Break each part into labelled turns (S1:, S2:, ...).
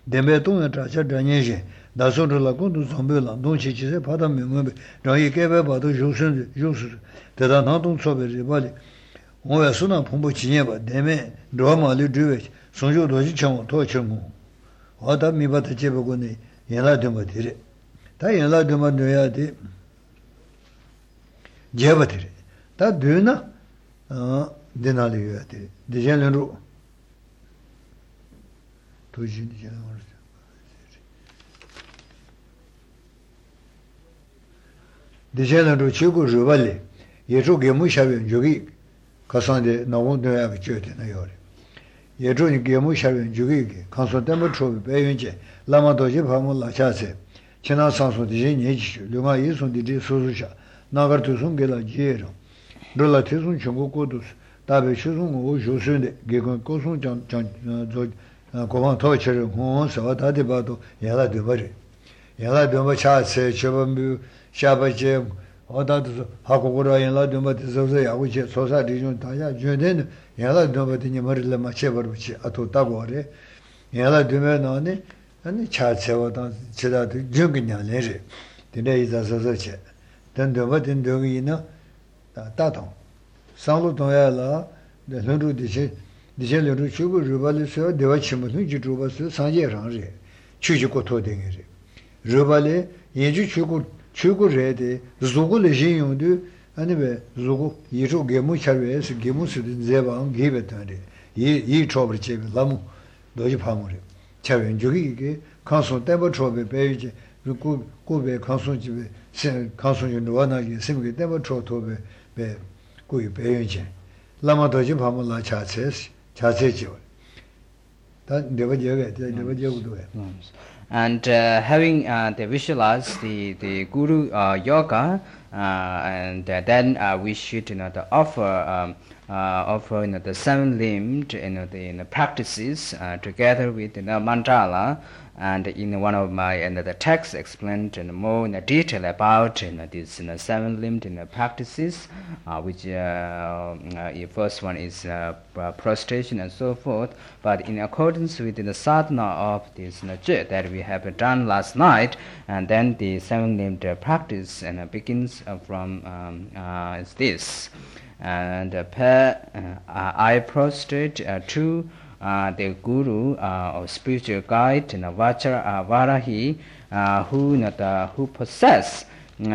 S1: Dembetung Tracha Danish, Dasundra Lakundu Zombela, Donchi Pada Mumbe, Rai Kebe Bado Josun, Jus, the Danton Sobe Ribali, Oasuna Pumbo Chineva, Deme, Drama Lidrivich, Sonjo Dojicham, Tochamu, Wada Mibata Chebagoni, Yela Dumatiri. Ta Yela Dumaduati Jevatiri. Ta Duna Denali, the General. Dicendo Chico Juvali, Yetu Gemushavi, Jugi, Cassande, no one to have a church in the Yori. Yetu Gemushavi, Jugi, Constantemo Trovi, Bayunche, Lamadoji Pamula Chase, China Sanso di Genici, Luma Ison di Susha, Nagartusun Gela Gero, Relatisun Chungo Codus, Tabe Chusun o Josunde, Gegon Cosun Jan. Common torture, who so what I about Yala de Bari. Yala de Machas, Chabambu, Shabajem, or that Hakura and Laduma Zozea, which is society, Junden, Yala Domatin Marilla Machever, which Ato Tagore, Yala Dumenone, and the chat Sevatan Cheda Jungian Leisure. Today is as a then the Vatin Dogina, Taton. Saluton Yala, the Lundu Dice. Dicendo che Chugo Rubali so deva chimutu Juba so sanje range chuju ko to dengere Rubali yeju chugo rede zugo le jin de anibe zugo yeju gemu charwe se gemu su zeba gibe tande yi chobre che lamu doji pamore chawen jugi ke kanso tembo chobe beje ku be kanso jibe se kanso yu wana ye simge tembo chobe be ku beje lama doji pamula chases.
S2: And having they visualize the Guru yoga, and then we should offer the seven-limbed the practices together with the mandala. And in one of my the texts explained more in detail about these seven-limbed practices, which the first one is prostration and so forth. But in accordance with the sadhana of this that we have done last night, and then the seven-limbed practice begins from is this. And I prostrate to the Guru or spiritual guide Varahi, who possess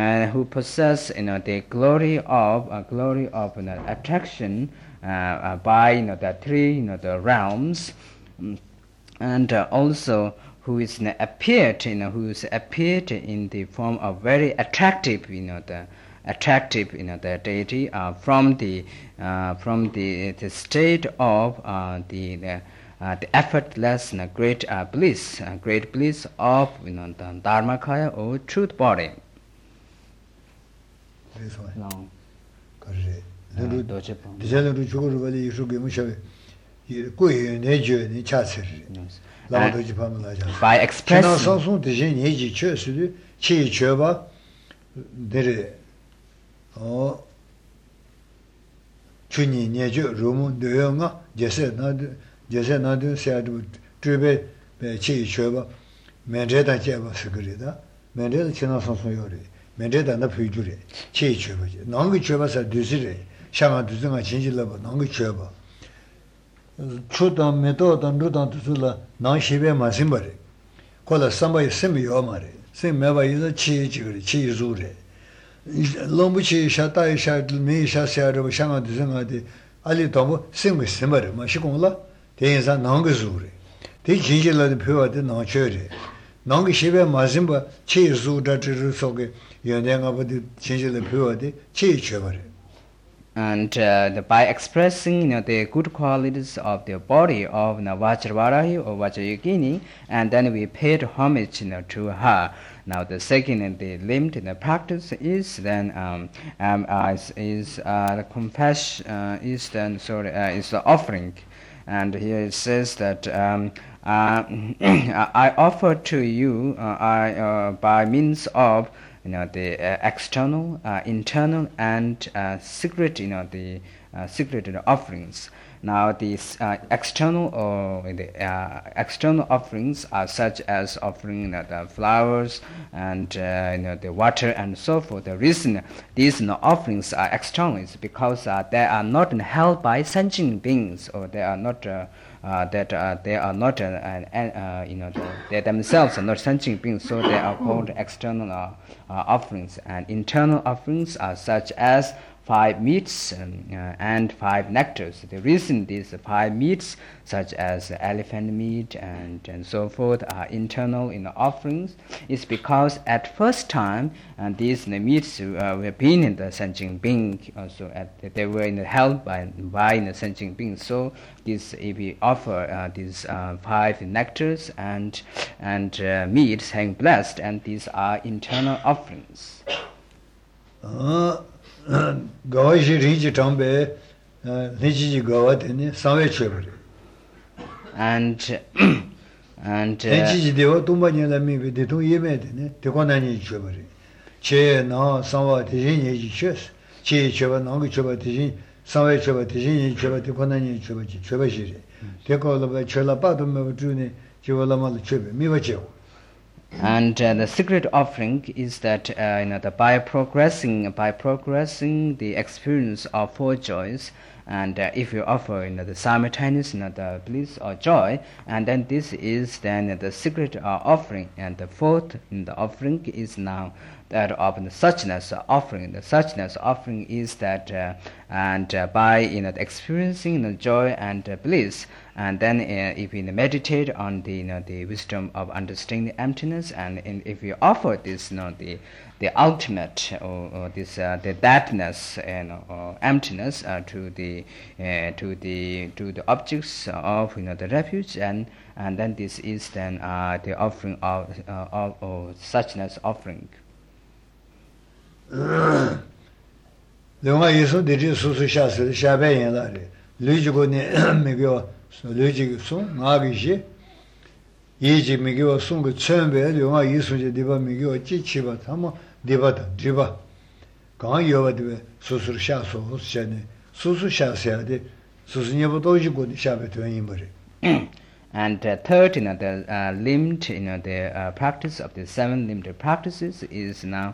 S2: the glory of attraction by the three the realms, and also who is appeared in the form of very attractive the deity from the state of the effortless great bliss of the Dharmakaya or truth body.
S1: This one.
S2: No. By expressing
S1: Chuni Nejo, Rumu, Duyonga, Jesenadu said, Trube, Chi Chova, Mendeta Java Securita, Mendeta Chinason, Mendeta and the Pujure, Chi Chova, Nongi Chova said Dusire, Shama Duzuma change level, Nongi Chova. Chutan method and Rutan Tula, non Shive Masimbari. Call us somebody semi omari, same never is a chi zure. Lombuchi Shatai Shat me Shasha Shama Duzanga, Ali Tomo, sing with Simmer, Mashikola, they is a Nongazuri. They change the pure did not cherry. Nongi Shiva Mazimba, Chi Zu Datirusoge, Yandang about the change the pure, Chi Chevari.
S2: And by expressing the good qualities of the body of Vajravarahi or Vajrayogini, and then we paid homage to her. Now the second the limb in the practice is then the confession is then is the offering, and here it says that I offer to you by means of the external, internal, and secret, the secret offerings. Now these external external offerings are such as offering the flowers and the water and so forth. The reason these offerings are external is because they are not held by sentient beings, or they are not they are not they themselves are not sentient beings, so they are called external offerings. And internal offerings are such as 5 meats and 5 nectars. The reason these 5 meats, such as elephant meat and so forth, are internal in the offerings is because at first time these meats were being in the sentient being, also they were held by the sentient being. So this, if we offer these 5 nectars and meats, having blessed, and these are internal offerings.
S1: Gawaji Riji Tombe, Niji Gawatini, Save Chevre.
S2: And
S1: Niji Deo Tumbani Lami with the 2 Yemedine, Tekonani Chevre. Che no, somewhat Tijini Chess, Che Cheva Nongi Cheva Tijin, Save Cheva Tijini Cheva Tekonani Chevajiri. Take all of a Chelapatum of Juni, Chevalamal Cheve, Mivacho.
S2: And the secret offering is that by progressing the experience of 4 joys, and if you offer the simultaneous the bliss or joy, and then this is then the secret offering. And the 4th the offering is now that of the suchness offering. The suchness offering is that by experiencing the joy and bliss, and then if we meditate on the wisdom of understanding the emptiness, and if we offer this the ultimate or this the thatness or emptiness to the objects of the refuge, and then this is then the offering of suchness offering.
S1: Lunga Yesu did Susu Shas, Shabayan Lari, Lujigo Miguel, Lujigo Sung, Nagishi, Yiji Miguel Sung, Chumbe, Lunga Yesu Diva Miguel, Chichiva, Tama, Divata, Driva, Gan Yova, Susu Shaso, Shane, Susu Shasiade, Susinivodojigo, Shabbat to anybody.
S2: And third, the limbed, the practice of the 7 limbed practices is now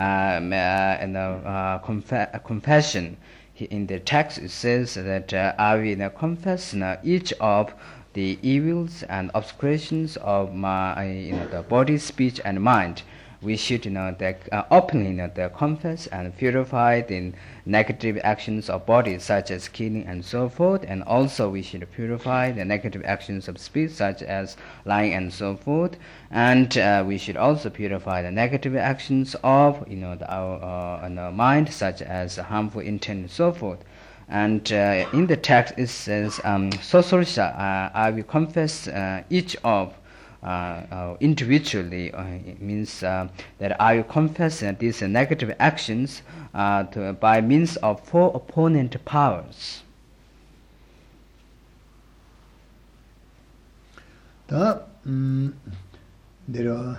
S2: confession. In the text, it says that I will confess each of the evils and obscurations of my the body, speech, and mind. We should openly confess and purify the negative actions of body, such as killing and so forth, and also we should purify the negative actions of speech, such as lying and so forth, and we should also purify the negative actions of our mind, such as harmful intent and so forth. And in the text it says, Sosorsha, I will confess each of individually. It means that I will confess these negative actions by means of 4 opponent powers.
S1: There are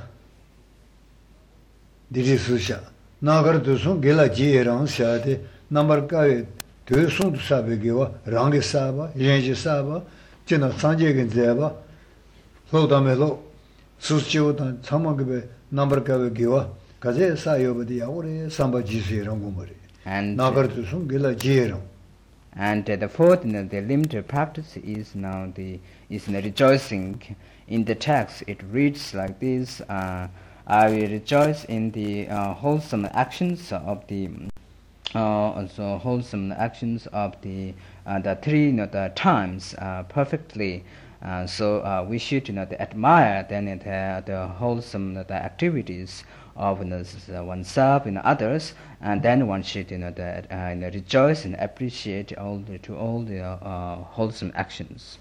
S1: Susha. Nagar to Sun Gela Jiran Shade, number Kavi, to Sun Sabigiva, Rangi Saba, Yenji Saba, China Sanjay Zeba. Lodamelo, Suschiutan, Samagabe, number Kavigiva, Kaze Sayobadi, Aure, Samba Jisi Rangumari, and Nagartusum Gila Jiro.
S2: And the 4th, the limited practice is now the rejoicing. In the text, it reads like this: I will rejoice in the wholesome actions of the wholesome actions of the 3 the times perfectly. So we should admire then the wholesome activities of oneself and others, and then one should rejoice and appreciate all the wholesome actions.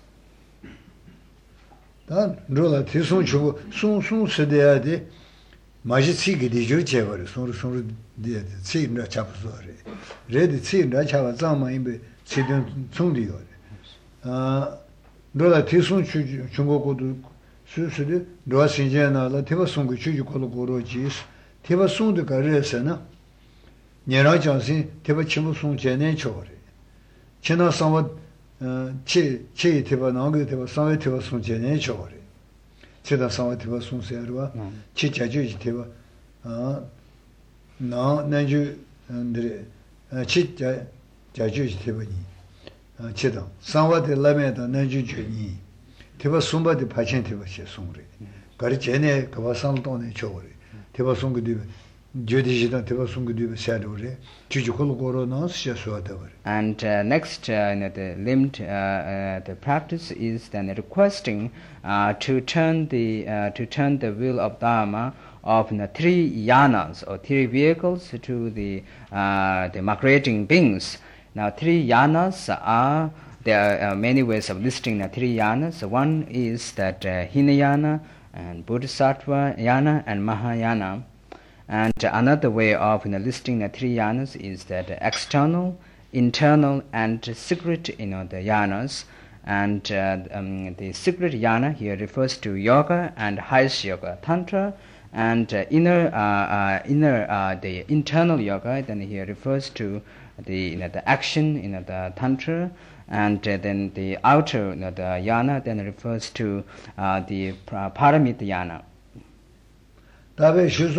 S1: Dan rola tisun chu sun sedeade majitsi gidi jochevar sun de tsinda chapsore red tsinda chava zama imbe tsidun tsundi yore rola tisun chu chungokodu susude roa sinjena la teba sungu chu kolo gorojis teba sundu karesena nyera jansin teba chimu sun jenen chore chena samwa 치 티바 나게 티바 상외 티바 송제네 저거래 제가 상외 티바 송세르와 치 자주지 티바 나 내주 근데 치 자주지 티바니 치다 상외의 라면다 내주 주니 티바 숨바디 파친 티바 시 송래 가리 제네 그바 상동네 저거래 티바 송그
S2: And next, the limit, the practice is then requesting to turn the wheel of Dharma of three yanas or three vehicles to the migrating beings. Now, three yanas are there are many ways of listing the three yanas. One is that Hinayana and Bodhisattva yana and Mahayana. And another way of listing the three yanas is that external, internal, and secret, the yanas. And the secret yana here refers to yoga and highest yoga, tantra, and the internal yoga. Then here refers to the action, the tantra, and then the outer, the yana, then refers to the paramita yana.
S1: And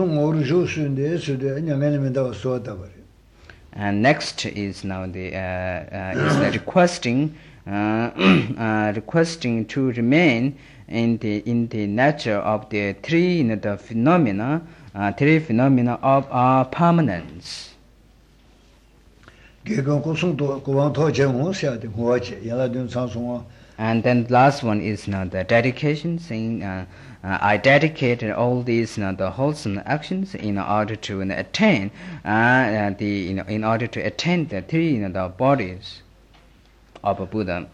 S2: next is now the requesting to remain in the nature of the three the phenomena of our permanence. And then the last one is now the dedication, saying I dedicated all these the wholesome actions in order to attain in order to attain the three the bodies of a Buddha.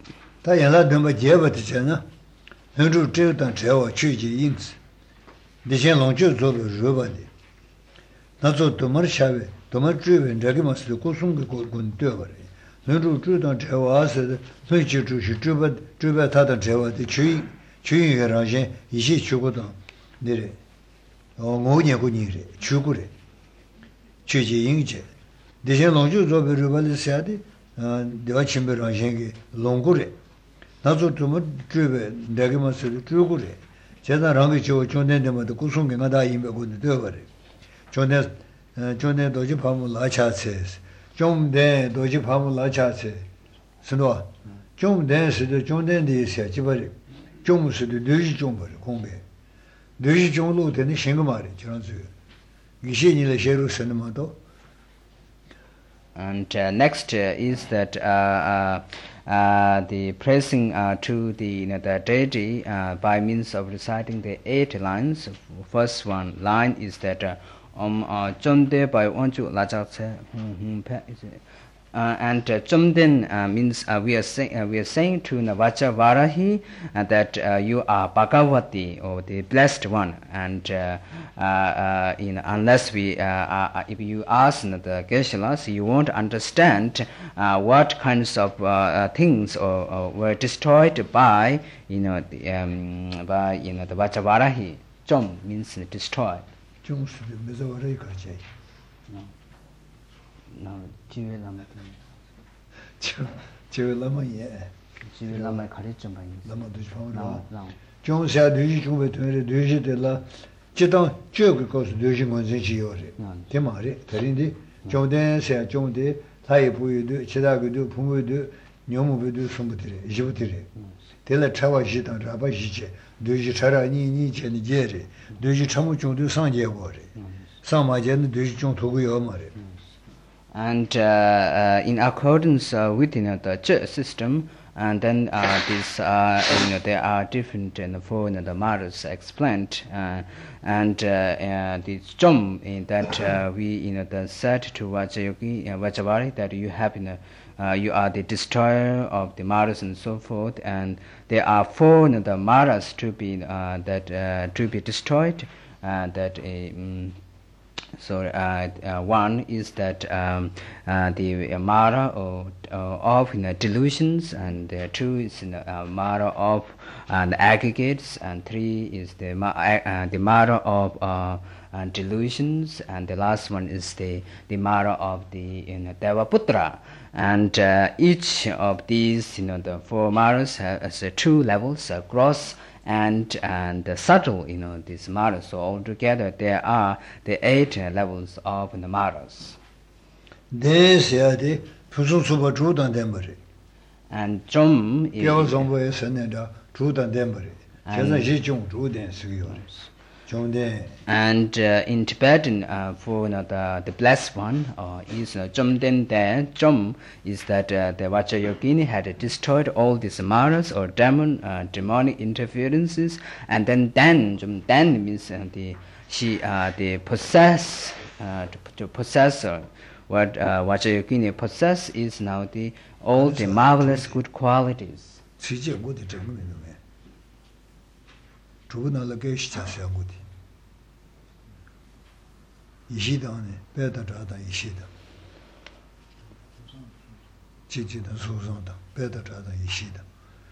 S1: 주인의 라제 이시 주고도 내래 오고니고니래 주고래 주지 인제 대신 lonju 조베르 발세야디 대화 침베라제게 롱고래 나도 좀 주베 내게 맞을 주고래 제가 랑이 저 존내데마도 구송게 나다 임베고도 되어버려 존내 도지 밤을 라차세 좀내 도지 밤을 라차세 스노 좀 내스도 존내데 있어 지버리 And
S2: next is that the praising to the deity by means of reciting the 8 lines. First one line is that Chomde by Onju Lajatse. And Chomden means we are saying to Vacha Varahi that you are Bhagavati, or the blessed one, and unless if you ask the Geshe-las, you won't understand what kinds of things were destroyed by the Vacha Varahi. Chom means destroyed. No, Jive Lama.
S1: Jive Lama, yeah.
S2: Jive Lama Karijam.
S1: Lama Dujpam. John said, do you go to the Duji de la Chitan Joke because Duji was in Giori. Timari, Tarindi, John Dan said, John de, Taipu, Chidago, Pumu, Nyomu, somebody, Jivutiri. Tell a Chava Jitan, Rabba Jije, Duji Chara, Ni, and Jerry, Duji Chamuchon do Sanje Wari. Some Majan, Duji John Togu.
S2: And in accordance with the church system, and then there are different four the matters explained, and the Chom in that we said to Vachavari that you have you are the destroyer of the matters and so forth, and there are four the matters to be to be destroyed, that So one is that the mara of delusions, and two is mara of the aggregates, and three is the mara of delusions, and the last one is the mara of the Devaputra. And each of these, the four maras has two levels, gross and subtle, these maras. So altogether there are the 8 levels of the maras. And Jom and in Tibetan, for the blessed one is Jomden there. Jom is that the Vajrayogini had destroyed all these maras or demonic interferences, and then Jomden means the possessor. What Vajrayogini possess is now all the marvelous good qualities.
S1: 이시다네 배다자다 이시다 지지다 소소다 배다자다 이시다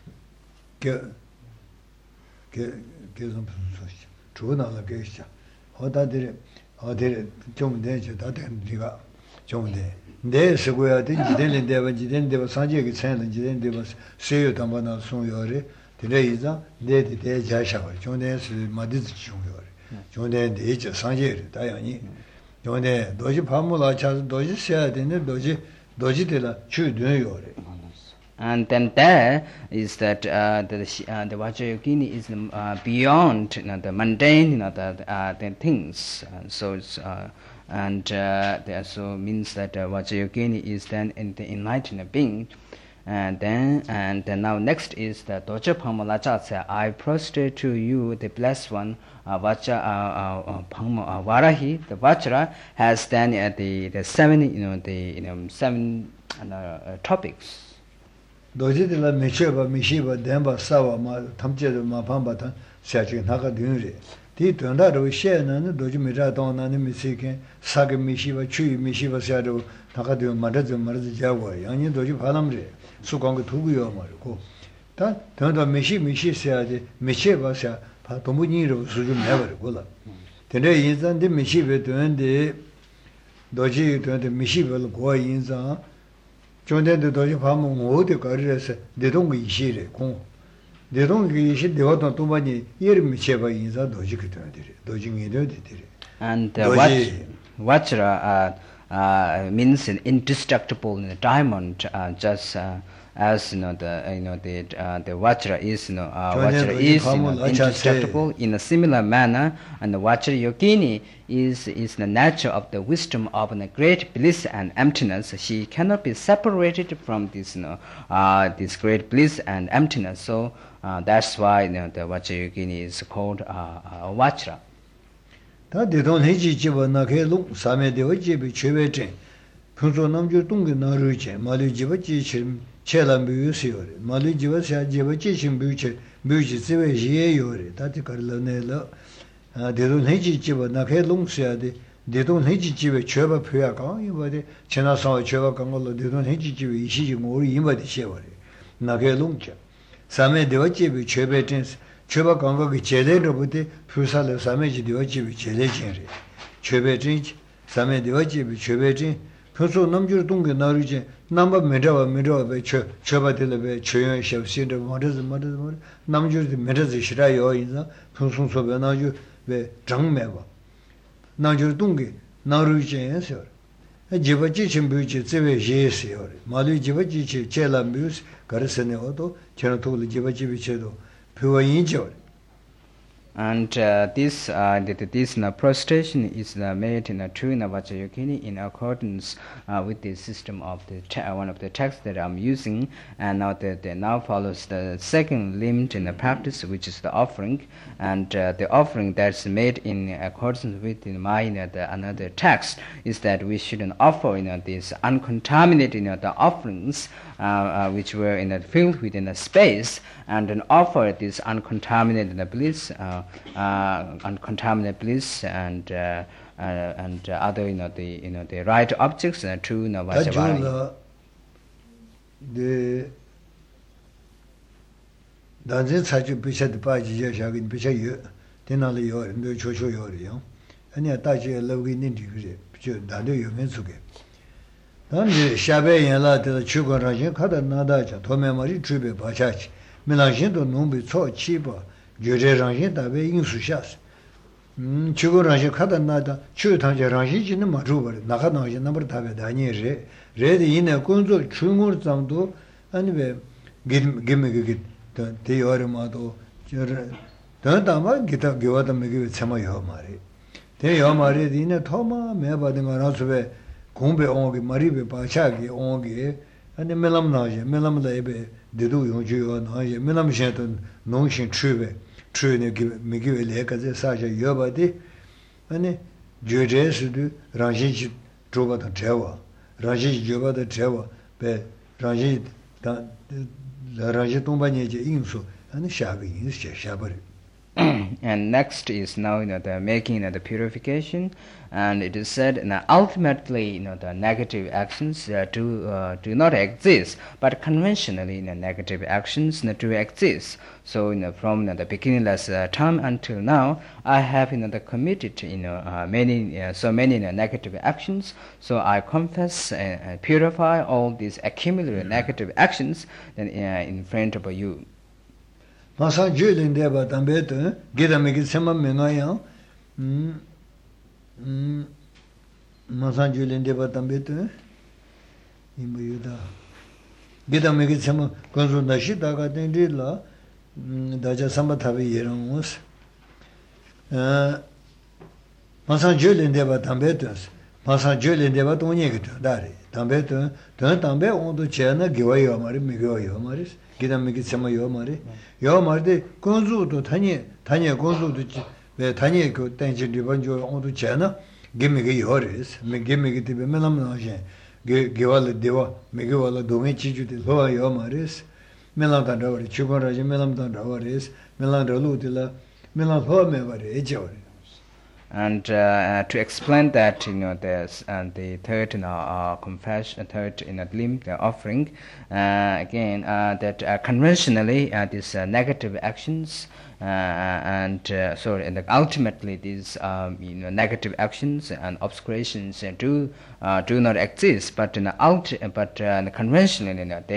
S1: 계속 소시 주나가 계시자 어다들 어디 좀 내줘 다된 네가 좀돼 내 쓰고야 돼 지된데 지된데 산지에 차는 지된데 세요 담바나 송요래 되레이자 내데 대자샤고 좀내스 마디즈 중요래 좀내 이제 산지에 다양히 요네 도지 밤물아 차서 도지 써야 되네 도지들라 추드요래.
S2: And then there is that the Vajrayogini is beyond the mundane, the things. So it's there so means that Vajrayogini is then in the enlightened being. And then now next is the Doja Pamalacha say, I prostrate to you, the blessed one, Varahi. The Vajra has then the 7 7 topics.
S1: 도지들라 메체바 미시바 덴바 사와 마 탐제도 마밤바탄 샤지 나가 되는데 디 된다로 셰는 도지 미라도나는 미시케 사게 미시바 추이 미시바 샤도 나가 되면 말아서 자고 양이 도지 바람래 수광고 두고요 말고 다 된다 미시 셔야지 미체바샤 바 도무니로 수준 내버리고라 근데 인산데 미시베 되는데 도지 되는데 미시벨 고 인산 존대도 도시 밤은 어디 가르래서 내동이 이시래 공 내동이 이시 되어도 또 많이 예름 제바 인사 도시 그들이 도징이도 되들이
S2: and Vajra means an indestructible diamond, just as the Vajra is indestructible. In a similar manner, and the Vajrayogini is the nature of the wisdom of the great bliss and emptiness. She cannot be separated from this this great bliss and emptiness. So that's why the Vajrayogini is called Vajra.
S1: 다 대돈 해지 집어나 개롱 사매 되어 집이 최배진 평소 남주 동게 나르제 말이 집어 지침 체란 비유시요 말이 집어 샤 집어 지침 비유체 비유지 집에 예요래 다티 걸러내러 대돈 해지 집어나 개롱 셔야돼 대돈 해지 집에 최바 표야가 이거데 지나서 최바 강걸로 대돈 해지 집에 이시지 우리 이마데 셔버래 나게 롱자 사매 되어 집이 최배진 최바 강거기 제대로부터 표사를 사매지 되어지비 제대진리 최배진 사매 되어지비 최배진 표소 남주 동게 나르지 남바 메라베 최바들베 최연 셔시데 모르즈 남주 메르즈 시라요 인자 풍송소베 나주 베 정매바 나주 동게 나르지에서 지바지 침부지 제베 예세요 말이 지바지 제람비스 가르세네오도 저노토를 지바지 비체도
S2: And this prostration is made in a true Vajrayogini in accordance with the system of one of the texts that I'm using. And now now follows the second limit in the practice, which is the offering. And the offering that's made in accordance with another text is that we shouldn't offer these uncontaminated the offerings which were filled within a space, and then offer this uncontaminated bliss, and and other the right objects to Vajavara.
S1: The danze chachu picha de pa ji ya sha gi picha yu tenali yo ndo cho cho yo ri yo ani ta ji lo gi nin di bi je da de yo men su ge dan ji sha be yan la de chu go ra jin ka da na da cha to me ma ri chu be ba cha chi me la jin do nu bi cho chi ba je je ran jin da be yin su sha chu go ra jin ka da na da chu tang je ran jin ji ne ma ru ba na ga na jin na ba da be da ni re 레디 이네 군조 중국 장도 아니베 김김게 대여름아도 저 더다마 기타 교와다 메게 참아요 말이 대여 말이 이네 토마 매바든 거라서베 공배 온게 마리베 바차게 온게 아니 멜람나je 멜람다에베 데도 용주요 나je 멜람셰도 농신 추베 추네 메게 레가제 사자 여바디 아니 조제스도 랑신치 조바다 제와 Raji Java Treva, Be Raji Tombaneje Insu, and Shabi is Shabari.
S2: And next is now the making the purification, and it is said ultimately the negative actions do not exist, but conventionally negative actions do exist. So from the beginningless time until now, I have committed many negative actions. So I confess and purify all these accumulated negative actions in front of you.
S1: Masa Julin Deva Tambeto, get a make it some Menoya. Masa Julin Deva Tambeto, Imbuda. Get a make it some Consultashita got in Dilla, Daja Sambatavi Yerons. Masa Julin Deva Tambetos, Masa Julin Deva Tonyek, Dari, Tambeto, turn Tambe on the Chena, give away your Mari, Migo Yomaris. Gida megi sema yo mari de konzu to tanye konzu to be tanye ko tenje dibanjo ondu chena gemege yores me gemege tibe melam na je gewal dewa mege wala donge chiju de lo yo maris melam ta dawari chugora je melam ta dawaris melam ralu dila melam ho me bare ejori.
S2: And to explain that there's the third confession, third limb, the offering, again that conventionally these negative actions and ultimately these negative actions and obscurations do not exist, but conventionally they